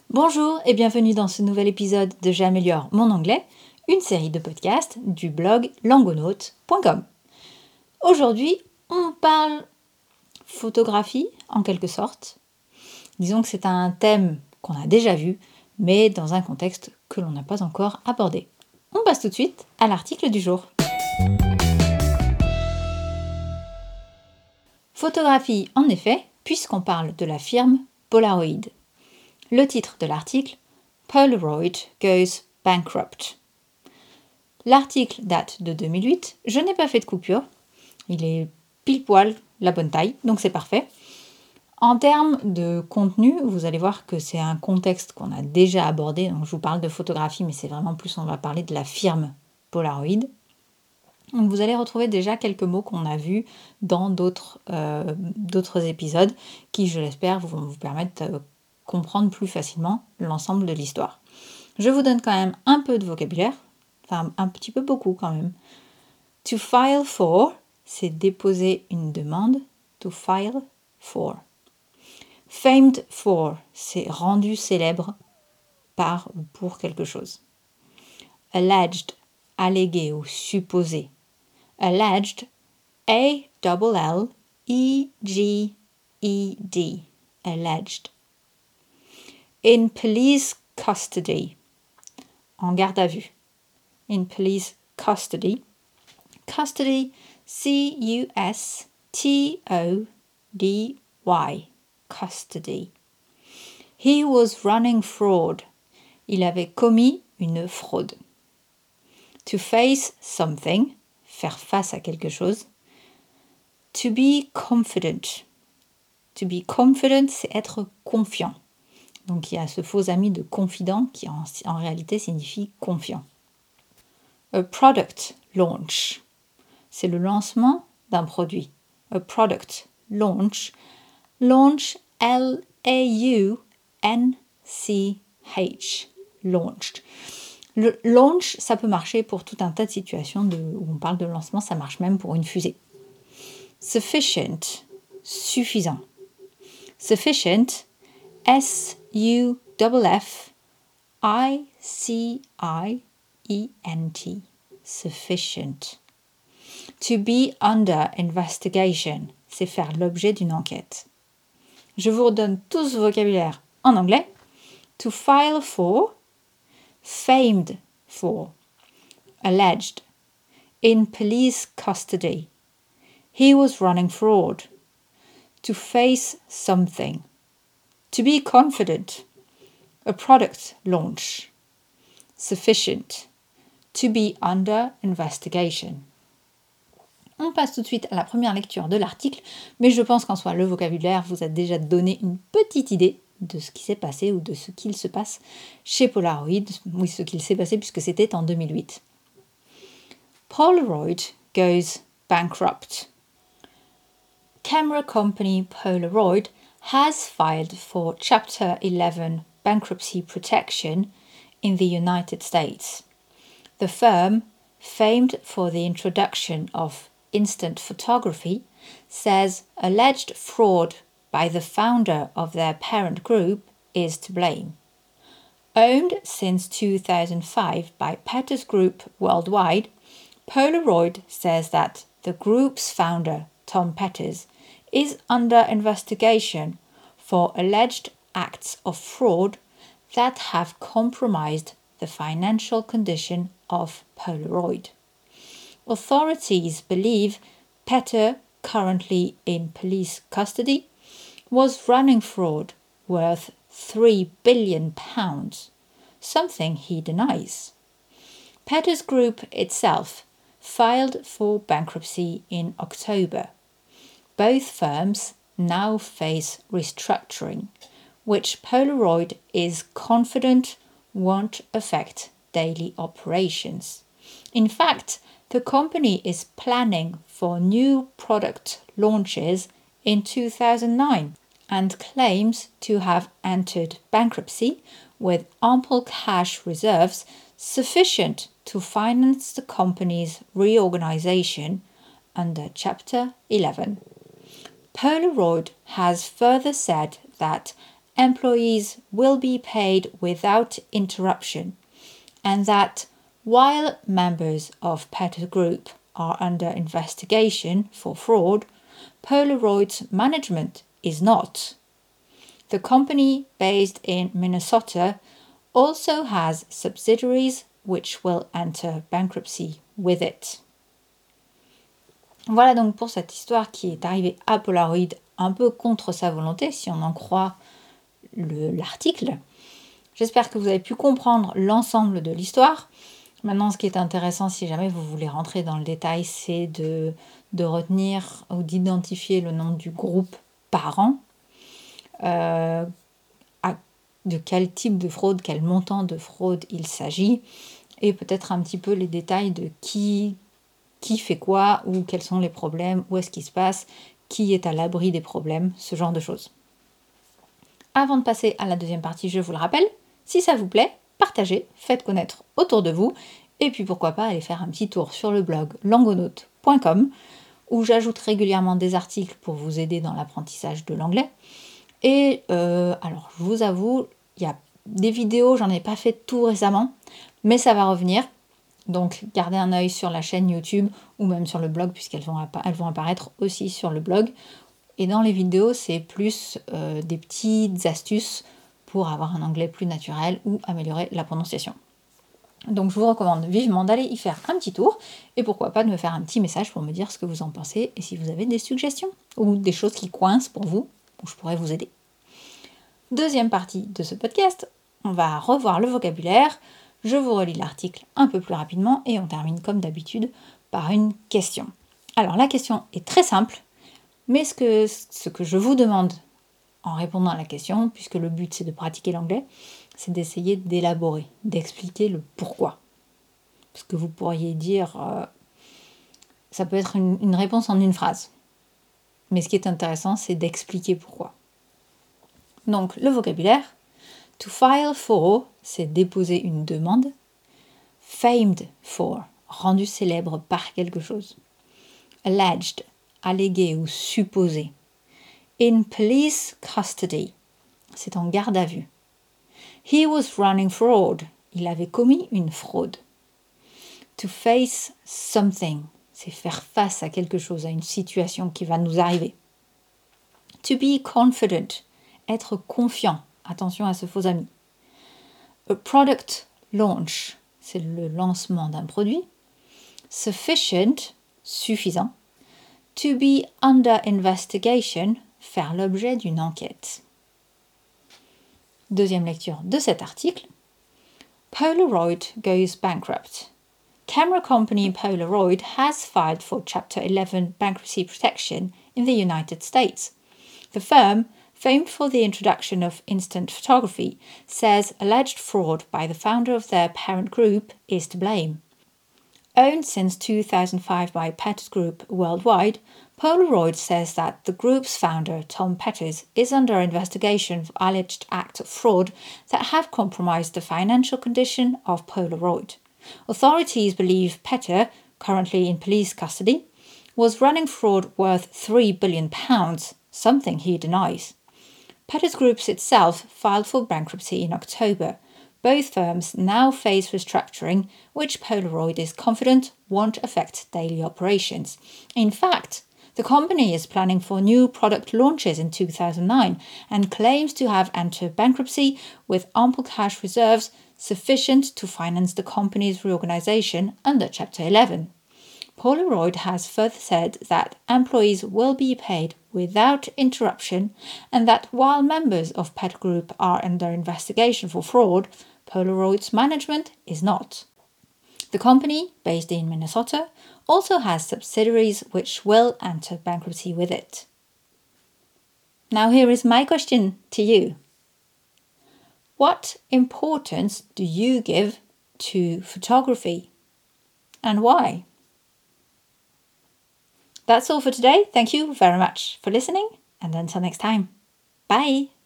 Bonjour et bienvenue dans ce nouvel épisode de J'améliore mon anglais, une série de podcasts du blog langonaute.com. Aujourd'hui, on parle photographie en quelque sorte. Disons que c'est un thème qu'on a déjà vu, mais dans un contexte que l'on n'a pas encore abordé. On passe tout de suite à l'article du jour. Photographie en effet, puisqu'on parle de la firme Polaroid. Le titre de l'article, Polaroid goes bankrupt. L'article date de 2008, je n'ai pas fait de coupure, il est pile poil la bonne taille, donc c'est parfait. En termes de contenu, vous allez voir que c'est un contexte qu'on a déjà abordé, donc je vous parle de photographie, mais c'est vraiment plus, on va parler de la firme Polaroid. Donc vous allez retrouver déjà quelques mots qu'on a vus dans d'autres épisodes qui, je l'espère, vont vous permettre de comprendre plus facilement l'ensemble de l'histoire. Je vous donne quand même un peu de vocabulaire, enfin un petit peu beaucoup quand même. To file for, c'est déposer une demande. To file for. Famed for, c'est rendu célèbre par ou pour quelque chose. Alleged, allégué ou supposé. Alleged, A-L-L-E-G-E-D. Alleged. In police custody, en garde à vue. In police custody. Custody, C-U-S-T-O-D-Y. Custody. He was running fraud. Il avait commis une fraude. To face something, faire face à quelque chose. To be confident. To be confident, c'est être confiant. Donc il y a ce faux ami de confident qui en réalité signifie confiant. A product launch. C'est le lancement d'un produit. A product launch. Launch, L-A-U-N-C-H. Launched. Le launch, ça peut marcher pour tout un tas de situations où on parle de lancement, ça marche même pour une fusée. Sufficient, suffisant. Sufficient, S-U-F-F-I-C-I-E-N-T. Sufficient. To be under investigation, c'est faire l'objet d'une enquête. Je vous redonne tout ce vocabulaire en anglais. To file for, famed for, alleged, in police custody. He was running fraud. To face something. To be confident. A product launch. Sufficient. To be under investigation. On passe tout de suite à la première lecture de l'article, mais je pense qu'en soi, le vocabulaire vous a déjà donné une petite idée de ce qui s'est passé ou de ce qu'il se passe chez Polaroid. Oui, ce qu'il s'est passé puisque c'était en 2008. Polaroid goes bankrupt. Camera company Polaroid has filed for Chapter 11 bankruptcy protection in the United States. The firm, famed for the introduction of instant photography, says alleged fraud by the founder of their parent group is to blame. Owned since 2005 by Petters Group Worldwide, Polaroid says that the group's founder, Tom Petters, is under investigation for alleged acts of fraud that have compromised the financial condition of Polaroid. Authorities believe Petter, currently in police custody, was running fraud worth £3 billion, something he denies. Petter's group itself filed for bankruptcy in October. Both firms now face restructuring, which Polaroid is confident won't affect daily operations. In fact, the company is planning for new product launches in 2009 and claims to have entered bankruptcy with ample cash reserves sufficient to finance the company's reorganization under Chapter 11. Polaroid has further said that employees will be paid without interruption, and that while members of Petter Group are under investigation for fraud, Polaroid's management is not. The company, based in Minnesota, also has subsidiaries which will enter bankruptcy with it. Voilà donc pour cette histoire qui est arrivée à Polaroid un peu contre sa volonté, si on en croit l'article. J'espère que vous avez pu comprendre l'ensemble de l'histoire. Maintenant, ce qui est intéressant, si jamais vous voulez rentrer dans le détail, c'est de retenir ou d'identifier le nom du groupe parent, de quel type de fraude, quel montant de fraude il s'agit, et peut-être un petit peu les détails de qui fait quoi, ou quels sont les problèmes, où est-ce qu'il se passe, qui est à l'abri des problèmes, ce genre de choses. Avant de passer à la deuxième partie, je vous le rappelle, si ça vous plaît, partagez, faites connaître autour de vous, et puis pourquoi pas aller faire un petit tour sur le blog langonaute.com, où j'ajoute régulièrement des articles pour vous aider dans l'apprentissage de l'anglais. Et alors, je vous avoue, il y a des vidéos, j'en ai pas fait tout récemment, mais ça va revenir. Donc, gardez un œil sur la chaîne YouTube ou même sur le blog, puisqu'elles vont apparaître aussi sur le blog. Et dans les vidéos, c'est plus des petites astuces pour avoir un anglais plus naturel ou améliorer la prononciation. Donc, je vous recommande vivement d'aller y faire un petit tour et pourquoi pas de me faire un petit message pour me dire ce que vous en pensez et si vous avez des suggestions ou des choses qui coincent pour vous, où je pourrais vous aider. Deuxième partie de ce podcast, on va revoir le vocabulaire. Je vous relis l'article un peu plus rapidement et on termine comme d'habitude par une question. Alors la question est très simple, mais ce que je vous demande en répondant à la question, puisque le but c'est de pratiquer l'anglais, c'est d'essayer d'élaborer, d'expliquer le pourquoi. Parce que vous pourriez dire, ça peut être une réponse en une phrase. Mais ce qui est intéressant, c'est d'expliquer pourquoi. Donc le vocabulaire, to file for, c'est déposer une demande. Famed for, rendu célèbre par quelque chose. Alleged, allégué ou supposé. In police custody, c'est en garde à vue. He was running fraud, il avait commis une fraude. To face something, c'est faire face à quelque chose, à une situation qui va nous arriver. To be confident, être confiant, attention à ce faux ami. A product launch, c'est le lancement d'un produit. Sufficient, suffisant. To be under investigation, faire l'objet d'une enquête. Deuxième lecture de cet article. Polaroid goes bankrupt. Camera company Polaroid has filed for Chapter 11 bankruptcy protection in the United States. The firm, famed for the introduction of instant photography, says alleged fraud by the founder of their parent group is to blame. Owned since 2005 by Petters Group worldwide, Polaroid says that the group's founder, Tom Petters, is under investigation for alleged acts of fraud that have compromised the financial condition of Polaroid. Authorities believe Petter, currently in police custody, was running fraud worth £3 billion, something he denies. Petters Group itself filed for bankruptcy in October. Both firms now face restructuring, which Polaroid is confident won't affect daily operations. In fact, the company is planning for new product launches in 2009 and claims to have entered bankruptcy with ample cash reserves sufficient to finance the company's reorganization under Chapter 11. Polaroid has further said that employees will be paid without interruption and that while members of Petter Group are under investigation for fraud, Polaroid's management is not. The company, based in Minnesota, also has subsidiaries which will enter bankruptcy with it. Now here is my question to you. What importance do you give to photography and why? That's all for today. Thank you very much for listening and until next time. Bye!